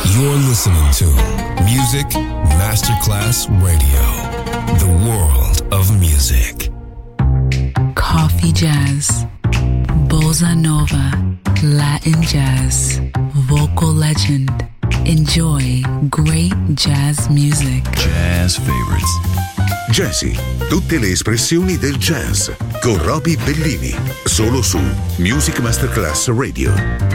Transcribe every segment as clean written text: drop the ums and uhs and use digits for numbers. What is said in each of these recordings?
You're listening to Music Masterclass Radio, the world of music. Coffee jazz, bossa nova, Latin jazz, vocal legend. Enjoy great jazz music. Jazz favorites. Jazzy, tutte le espressioni del jazz con Roby Bellini, solo su Music Masterclass Radio.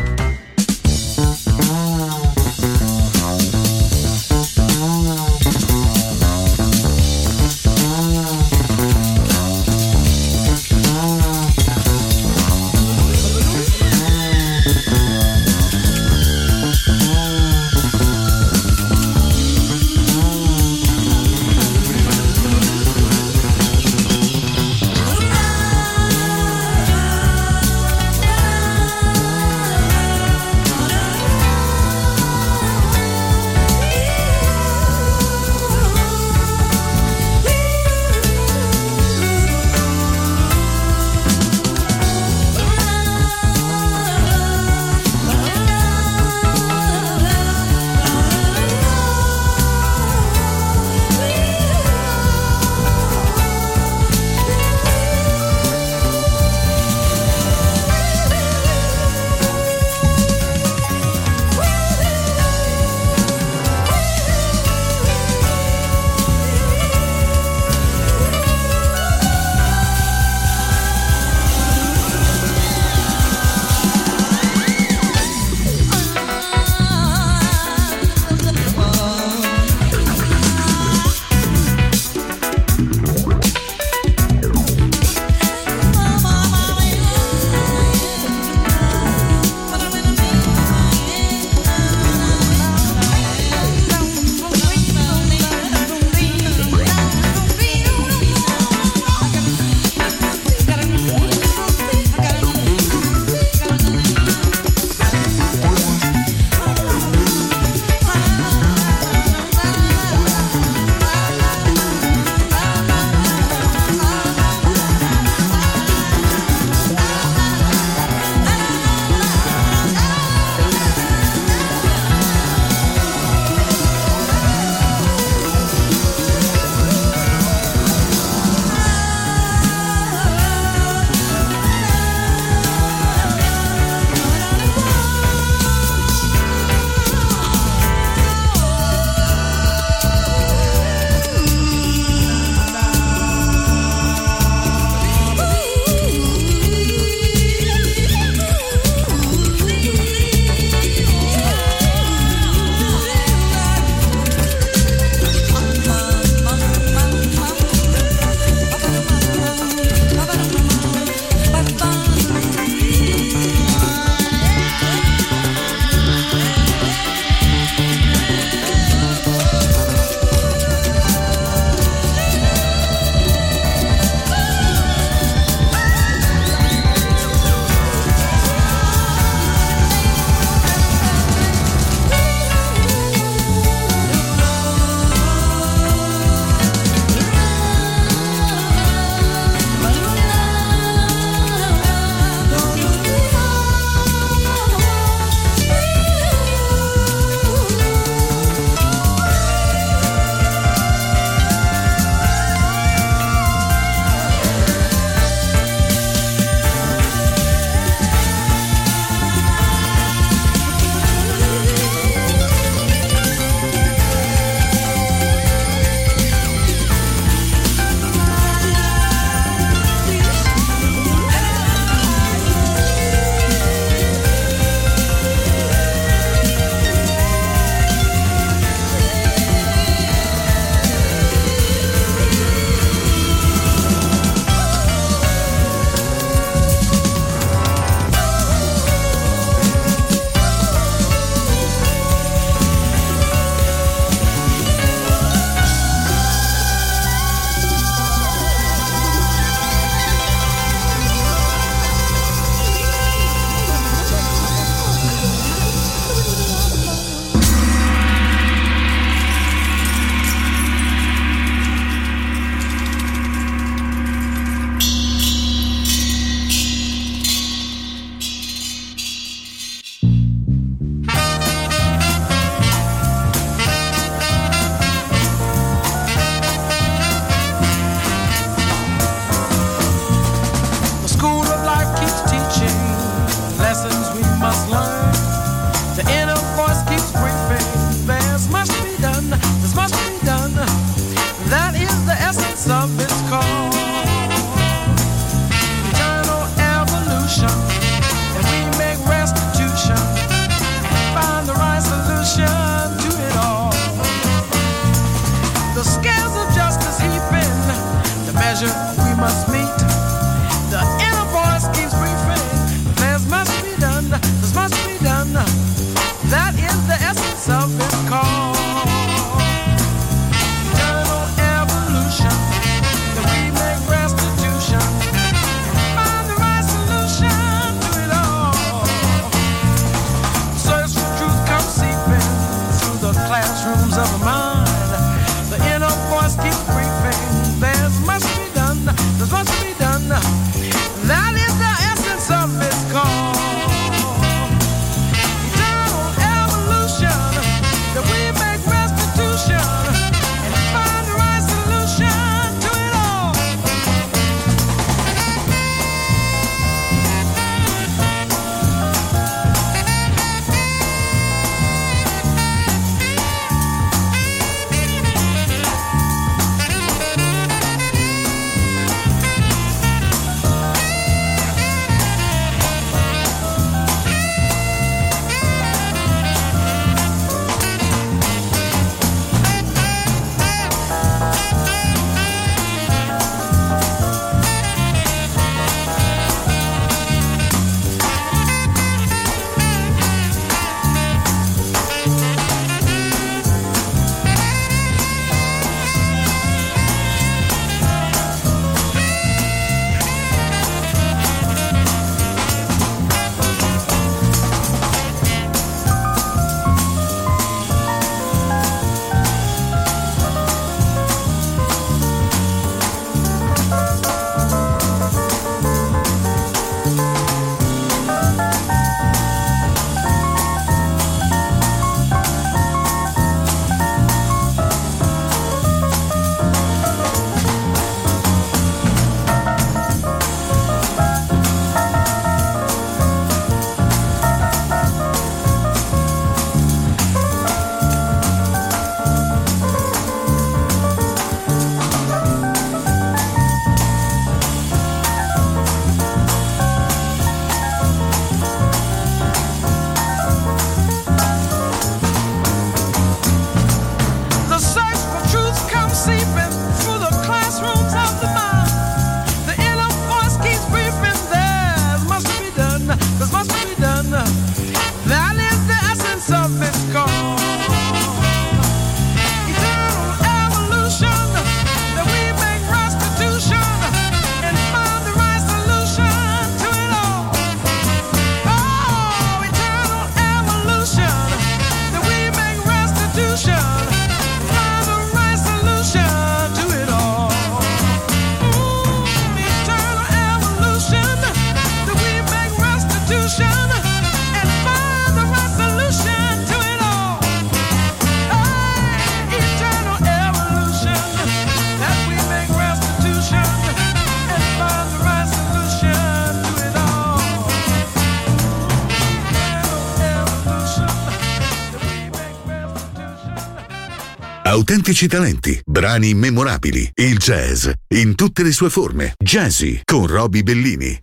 Autentici talenti, brani immemorabili, il jazz in tutte le sue forme. Jazzy con Roby Bellini.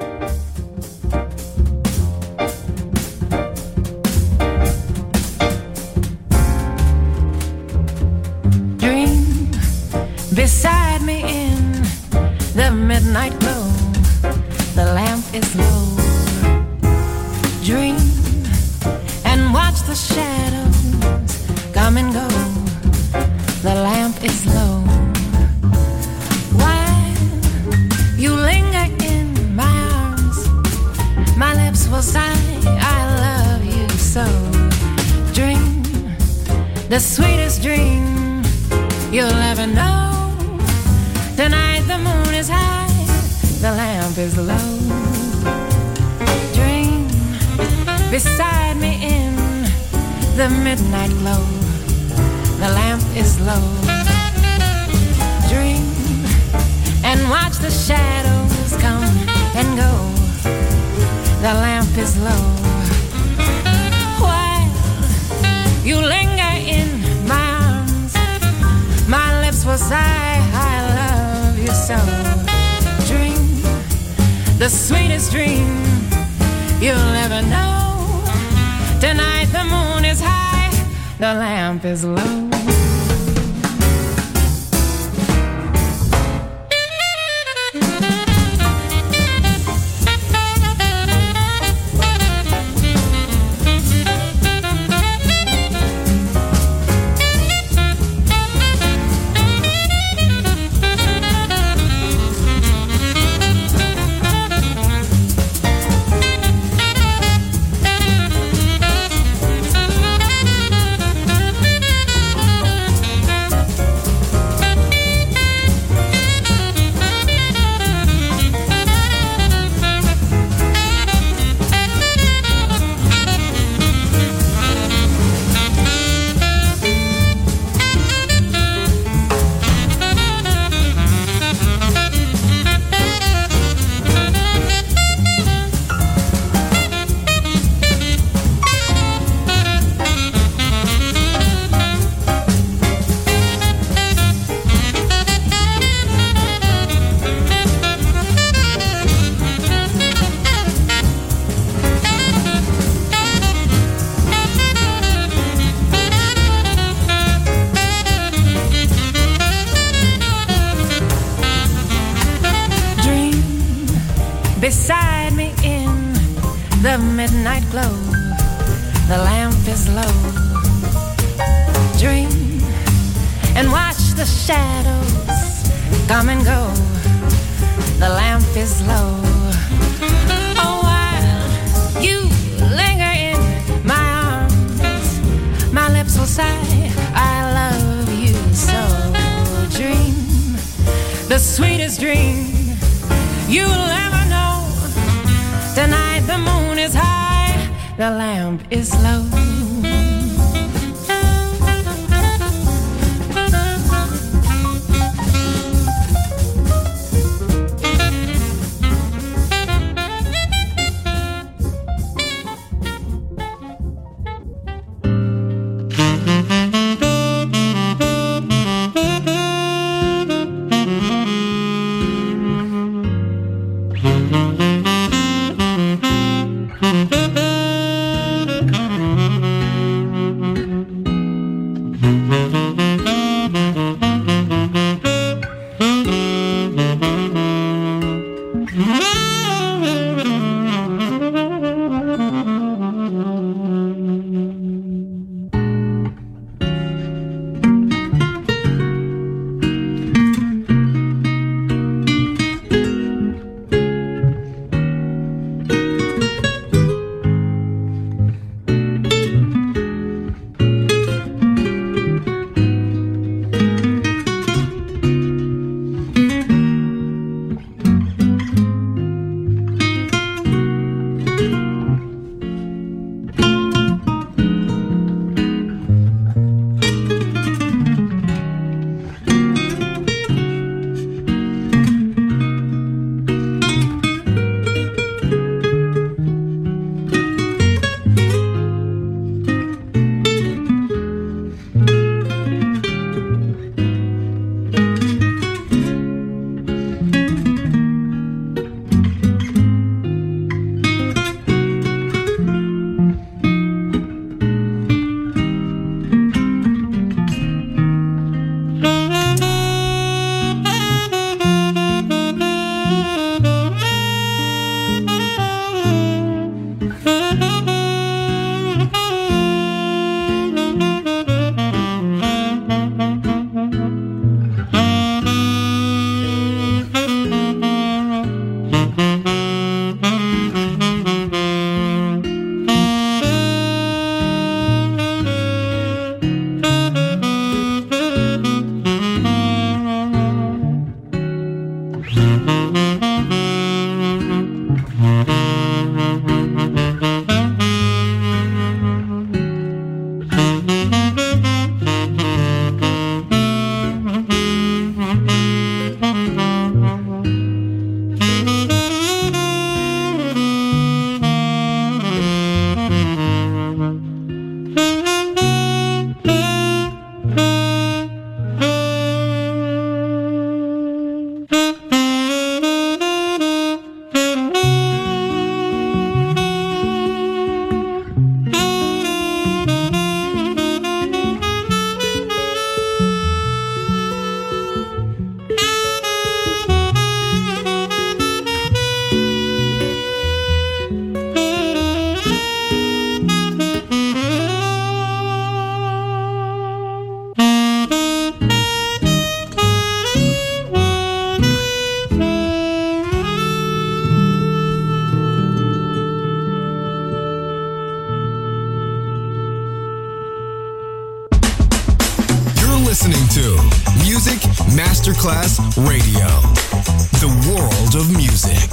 Dream beside me in the midnight glow. The lamp is low. Dream and watch the shadows come and go. The lamp is low. While you linger in my arms, my lips will sigh, I love you so. Dream the sweetest dream you'll ever know. Tonight the moon is high, the lamp is low. Dream beside me in the midnight glow. The lamp is low. Dream and watch the shadows come and go. The lamp is low. While you linger in my arms, my lips will sigh, I love you so. Dream the sweetest dream you'll ever know. Tonight the moon is high, the lamp is low. Beside me in the midnight glow, the lamp is low. Dream and watch the shadows come and go. The lamp is low. Oh, while you linger in my arms, my lips will sigh, I love you so. Dream the sweetest dream you'll ever know. Tonight the moon is high, the lamp is low. listening to Music Masterclass Radio, the world of music.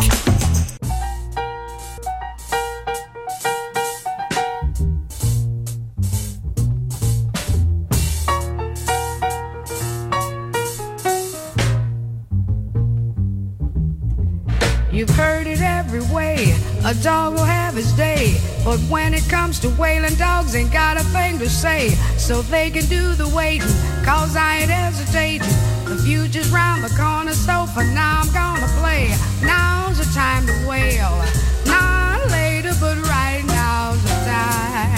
You've heard it every way, a dog will have his day. But when it comes to wailing, dogs ain't got a thing to say. So they can do the waiting, cause I ain't hesitating. The future's round the corner, so for now I'm gonna play. Now's the time to wail, not later, but right now's the time.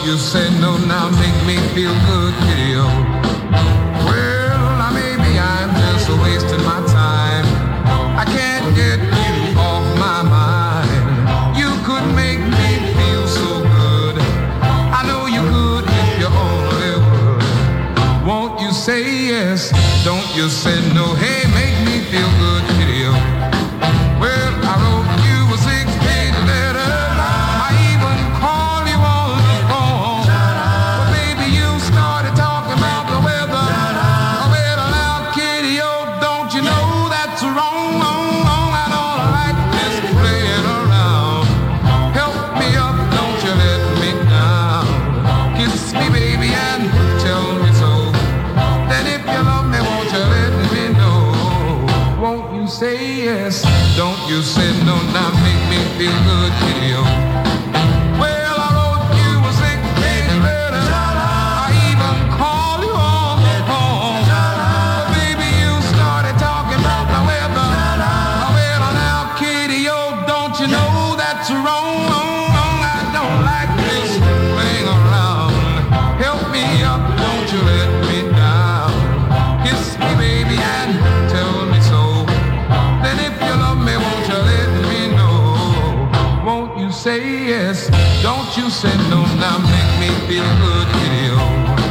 you say no now, make me feel good, kitty-o. Well, maybe I'm just wasting my time. I can't get you off my mind. You could make me feel so good. I know you could if you only would. Won't you say yes? Don't you say no. Hey, make me feel good, kitty-o. Well, I wrote you a 6-page letter. I even called you on the phone. But baby, you started talking about the weather. Well, now, kitty-o, don't you know that's wrong, wrong, wrong? I don't like this playing around. Help me up, don't you let me down. Kiss me, baby, and tell me so. Then if you love me, won't you let me know? Won't you say yes? Don't you say no, now make me feel good, kitty-o. Well, I wrote you a 6-page letter. I even called you on the phone. But baby, you started talking about the weather. Well, now, kitty-o, don't you know that's wrong, wrong, wrong? I don't like this playing around. Help me up, don't you let me down. Kiss me, baby, and tell me so. Then if you love me, won't you let me know? Won't you say yes? Don't you say no, now make me feel good, kitty-o.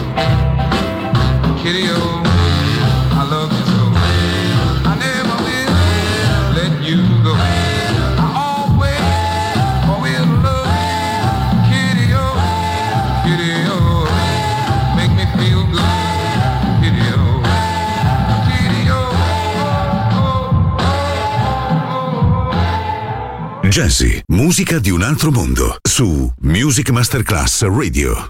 Kitty-o, I love you so. I never will let you go. I always will love you, kitty-o, kitty-o. Make me feel good, kitty-o. Jazzy, musica di un altro mondo, su Music Masterclass Radio.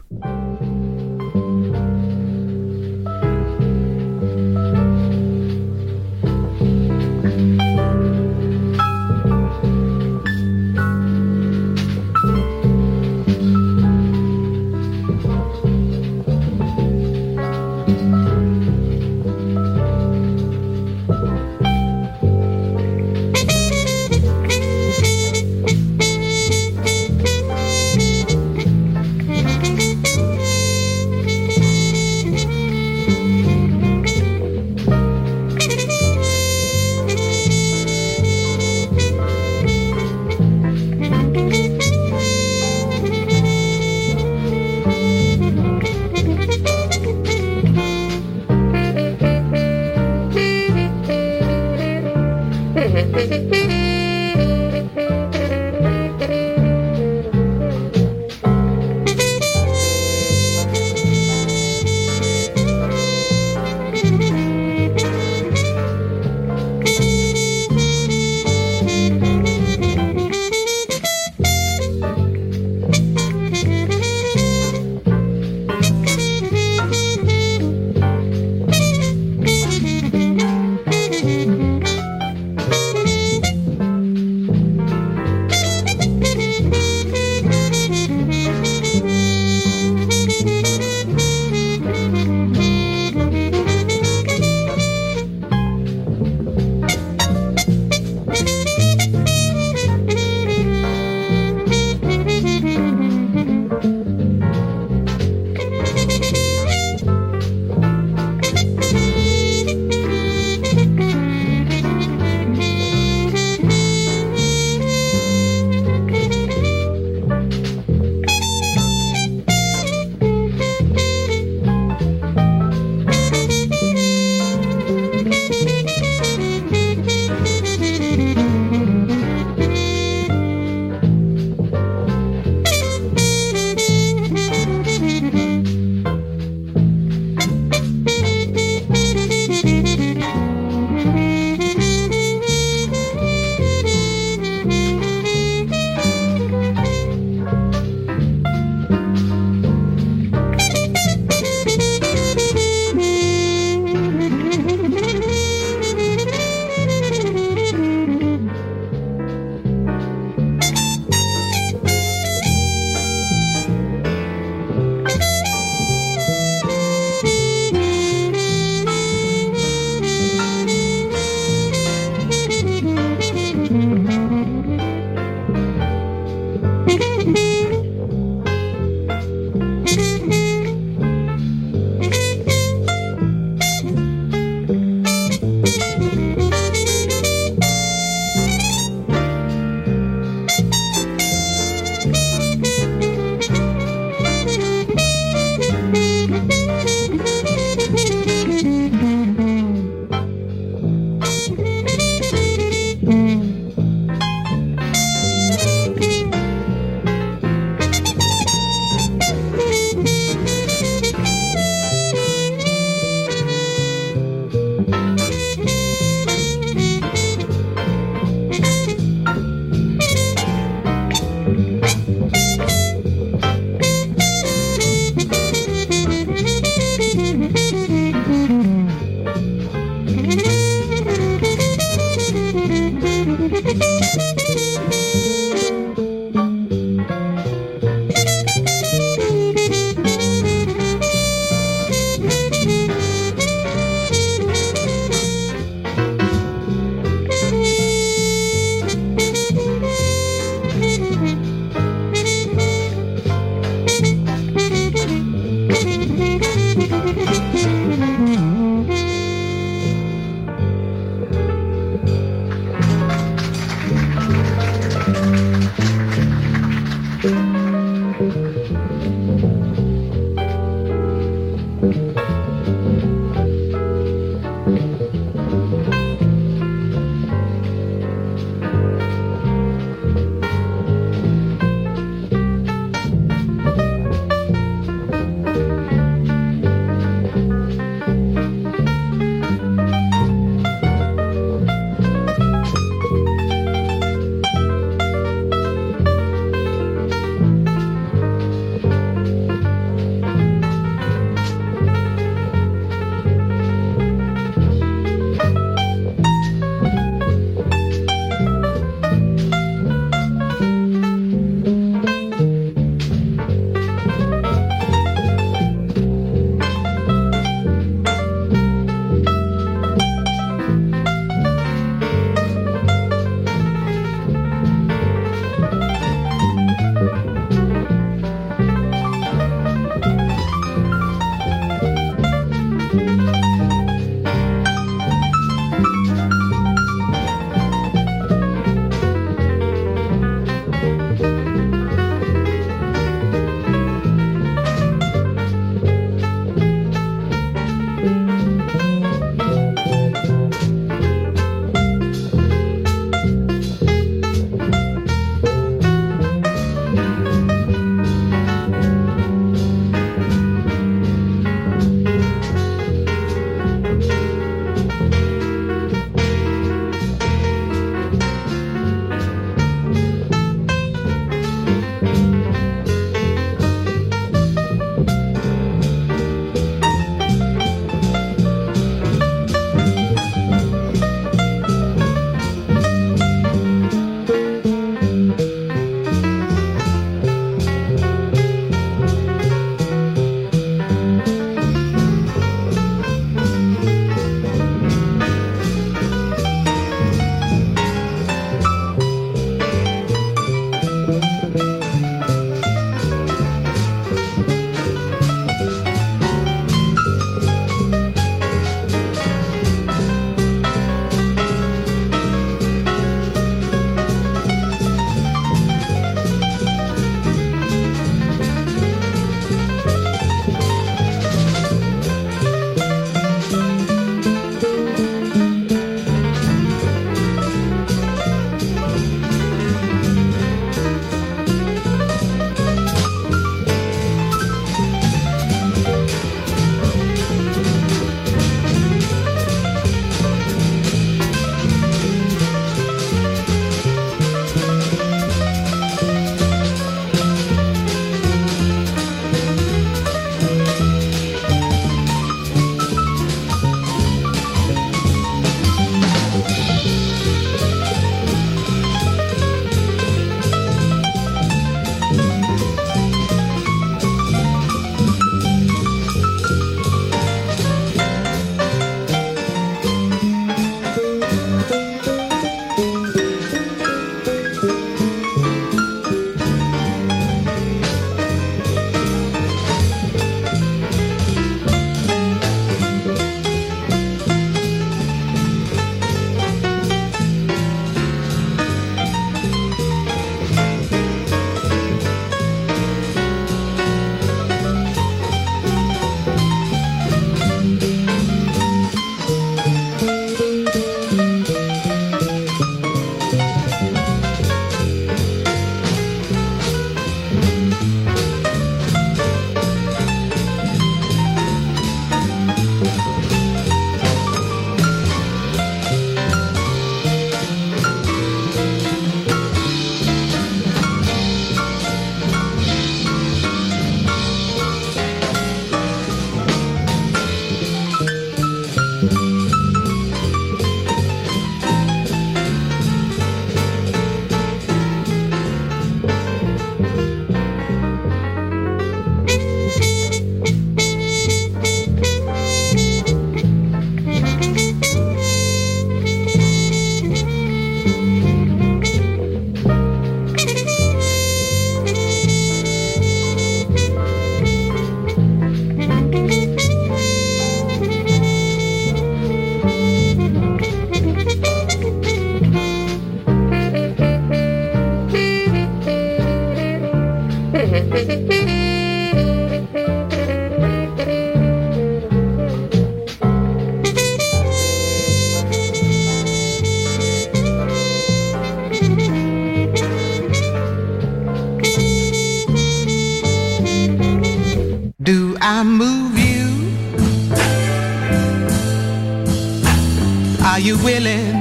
Are you willing?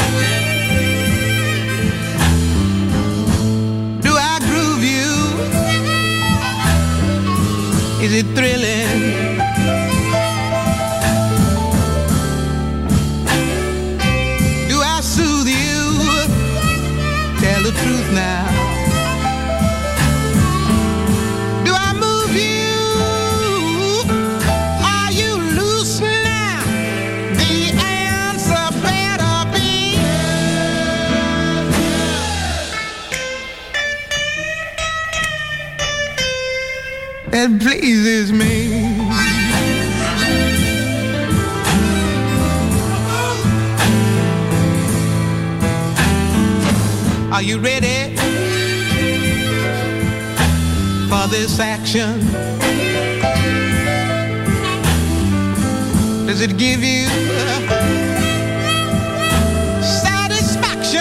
Do I groove you? Is it thrilling? Do I soothe you? Tell the truth now. That pleases me. Are you ready for this action? Does it give you satisfaction?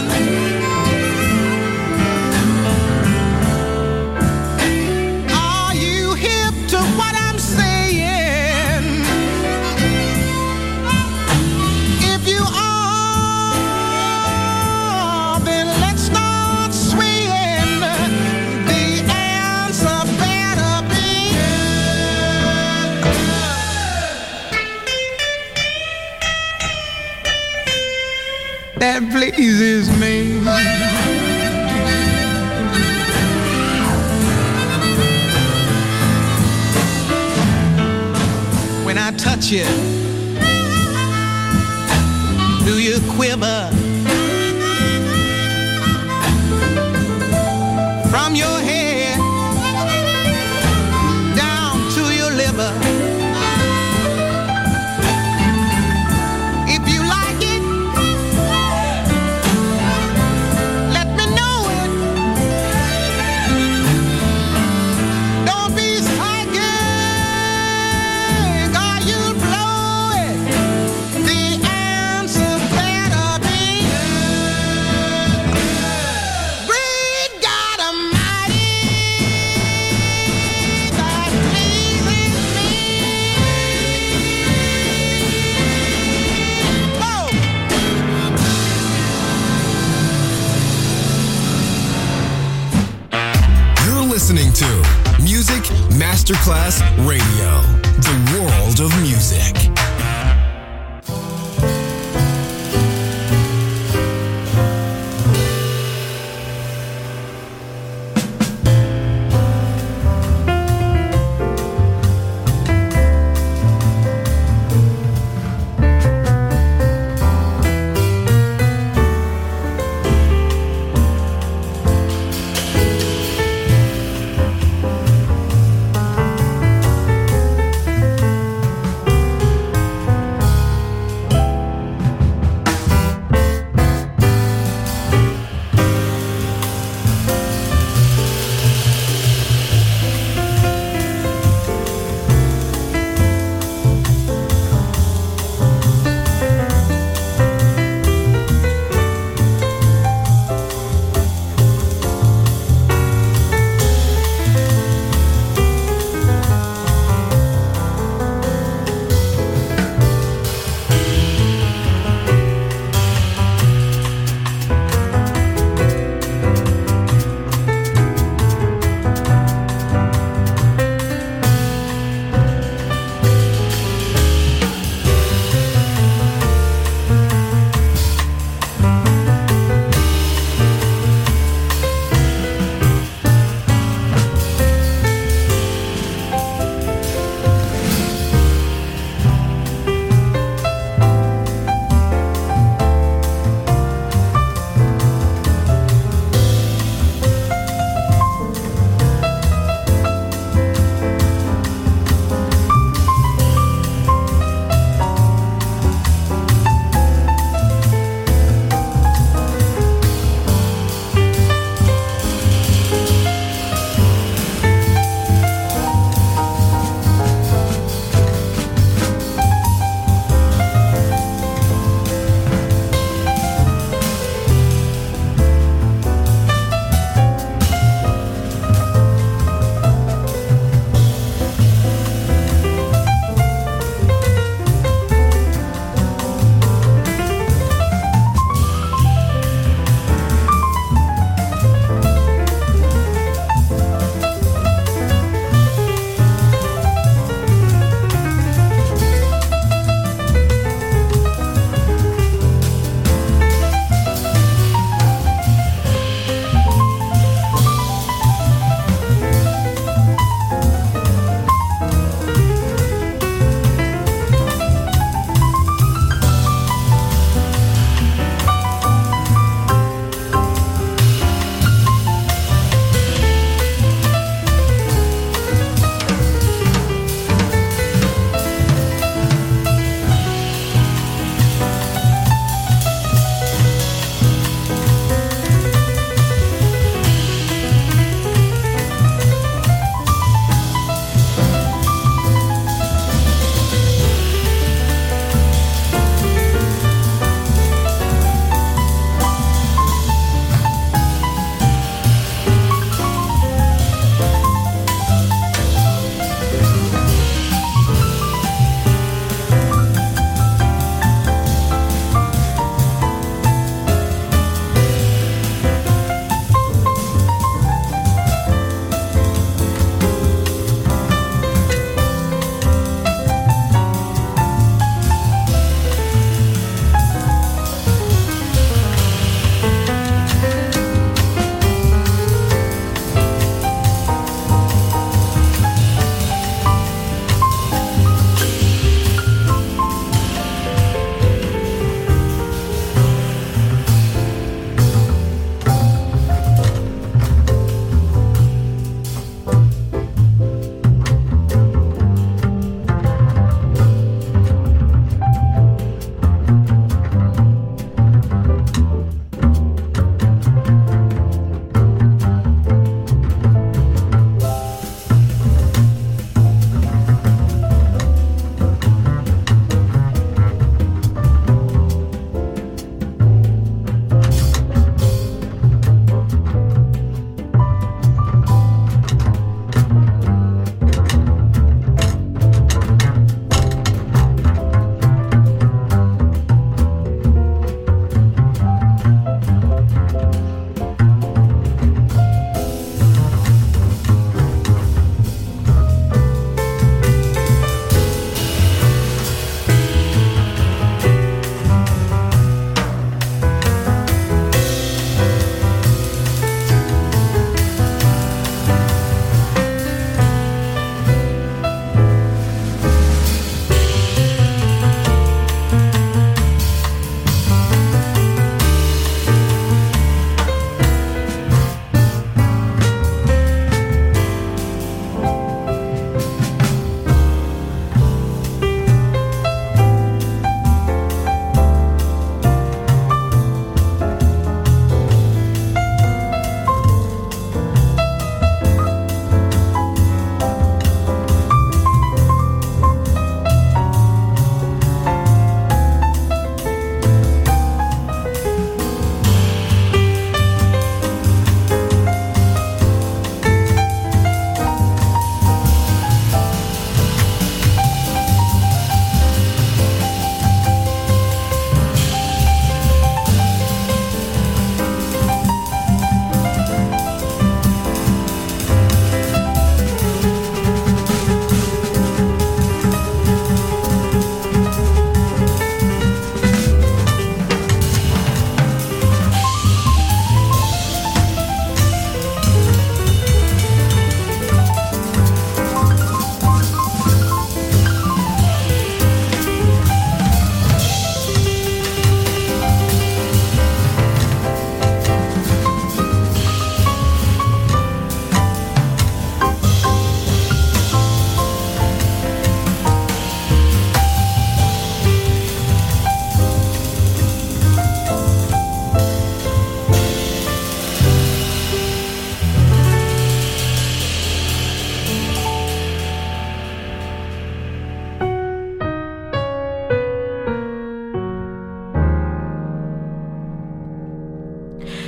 That pleases me. When I touch you, do you quiver? From your head down to your liver. Listening to Music Masterclass Radio, the world of music.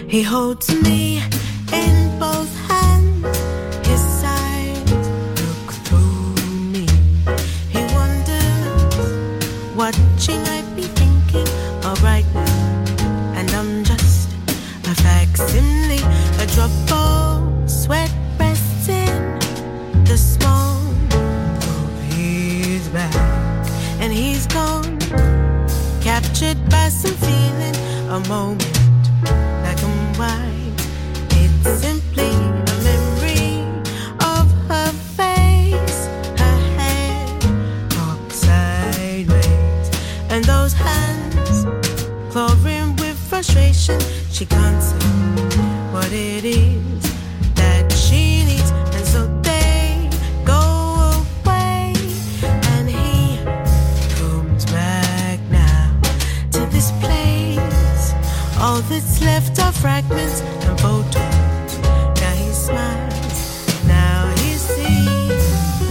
He holds me in both hands, his eyes look through me. He wonders what she might be thinking of right now, and I'm just a facsimile, a drop of sweat rests in the small of his back, and he's gone, captured by some feeling, a moment black and white. It's simply a memory of her face, her head cocked sideways, and those hands clawing with frustration. She can't say what it is that she needs, and so they go away, and he comes back now to this place. All that's left are fragments and photos. Now he smiles, now he sees.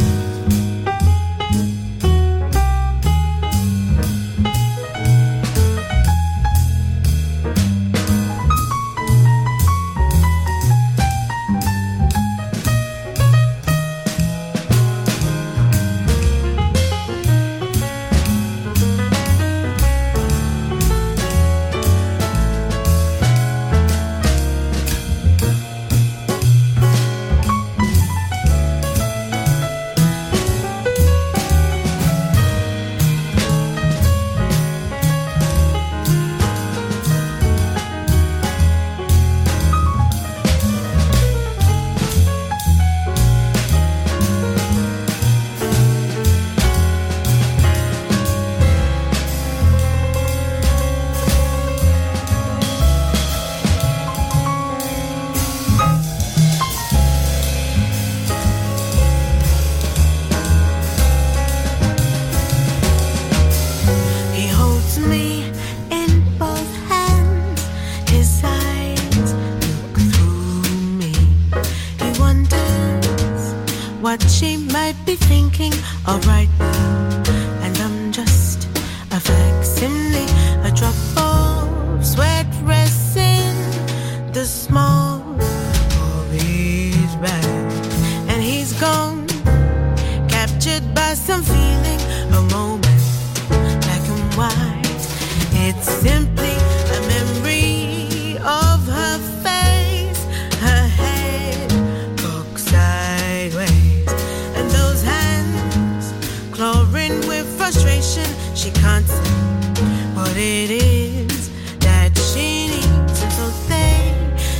What she might be thinking of right now, and I'm just a facsimile, a drop of sweat rests in the small of his back, and he's gone, captured by some feeling, a moment black and white. It's simply a memory of her face, her head cocked sideways, and those hands clawing with frustration. She can't say what it is that she needs, and so they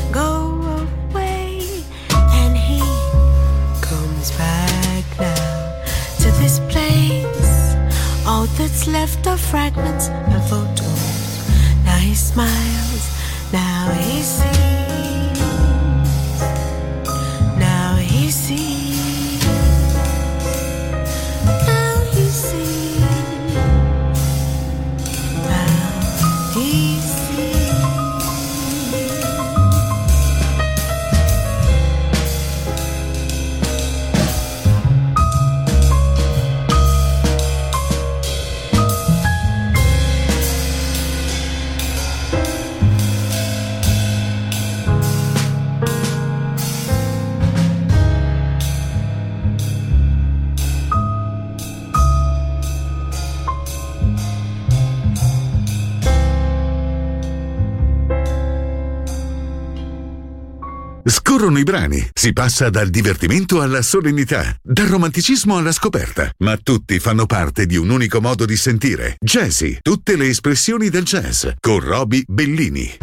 go away, and he comes back now to this place. All that's left are fragments and photos. Now he smiles, now he sees, now he sees, now he sees, now he sees. Scorrono i brani, si passa dal divertimento alla solennità, dal romanticismo alla scoperta, ma tutti fanno parte di un unico modo di sentire. Jazzy, tutte le espressioni del jazz, con Roby Bellini.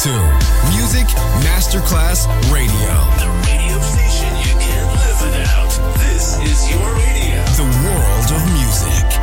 to Music Masterclass Radio. The radio station you can't live without. This is your radio. The world of music.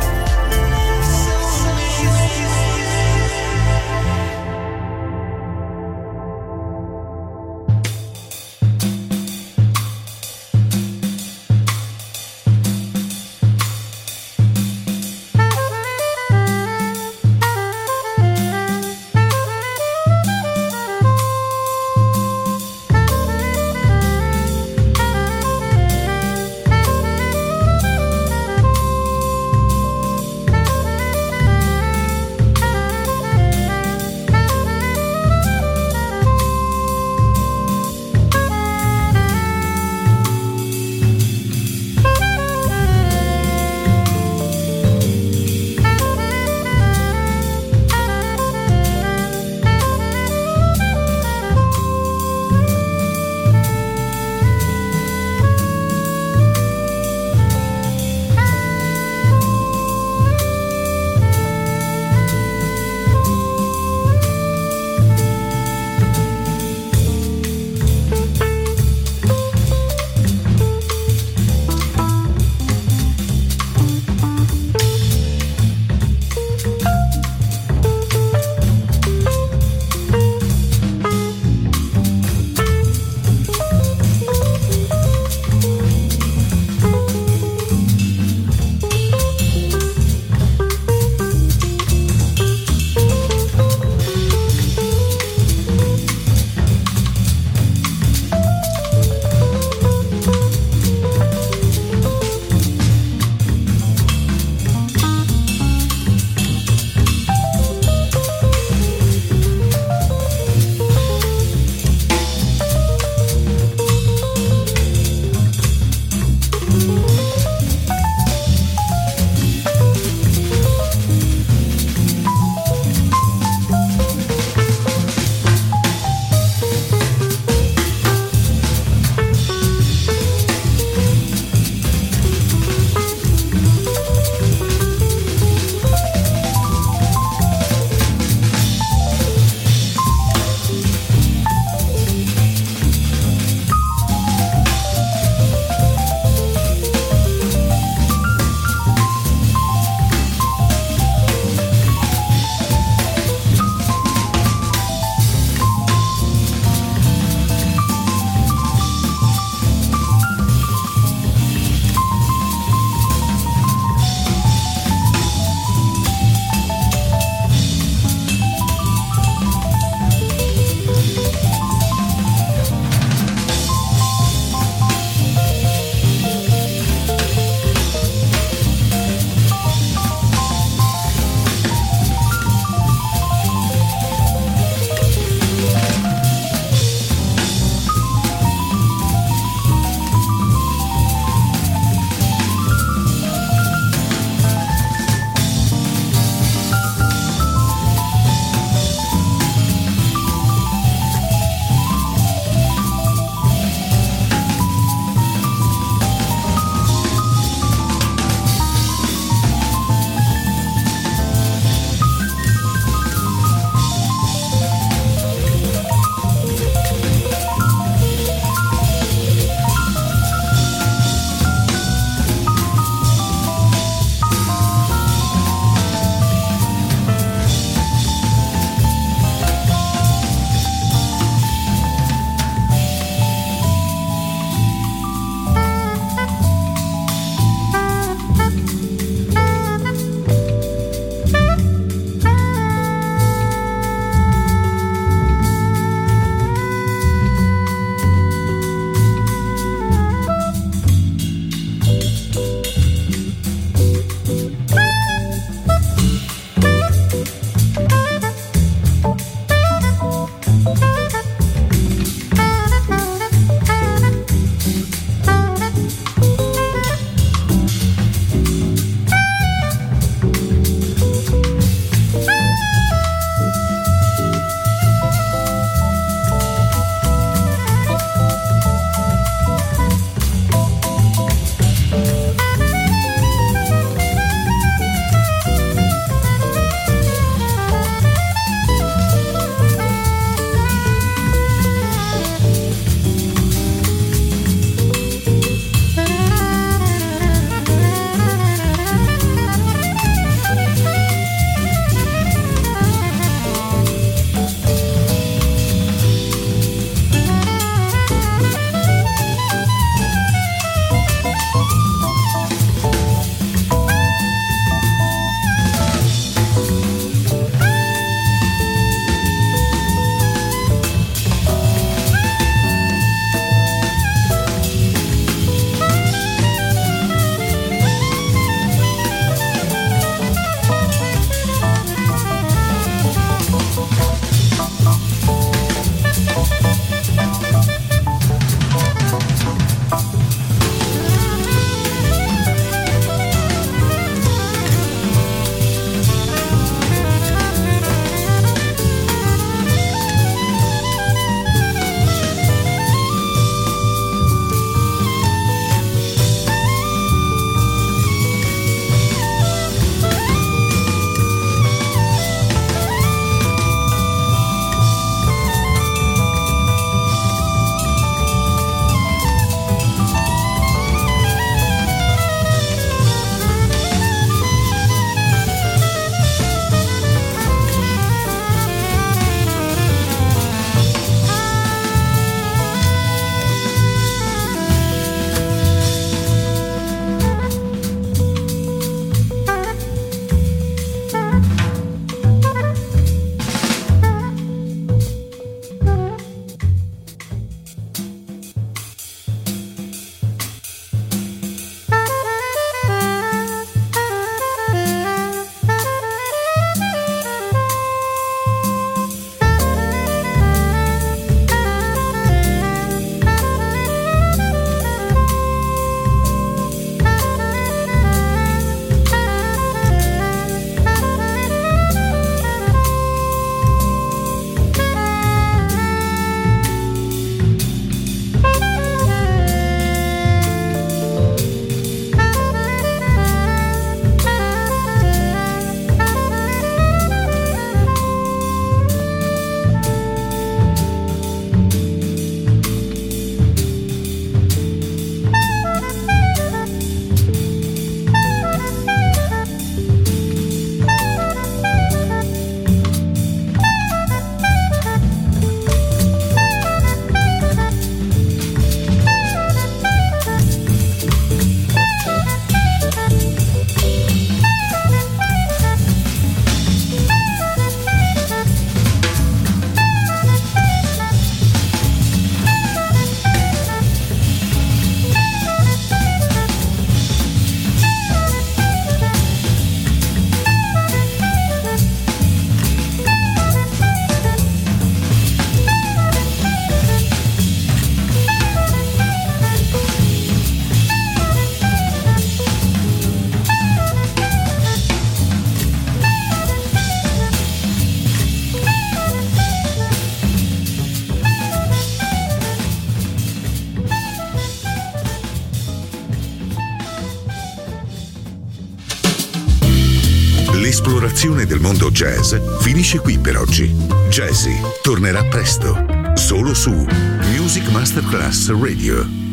L'esplorazione del mondo jazz finisce qui per oggi. Jazzy tornerà presto, solo su Music Masterclass Radio.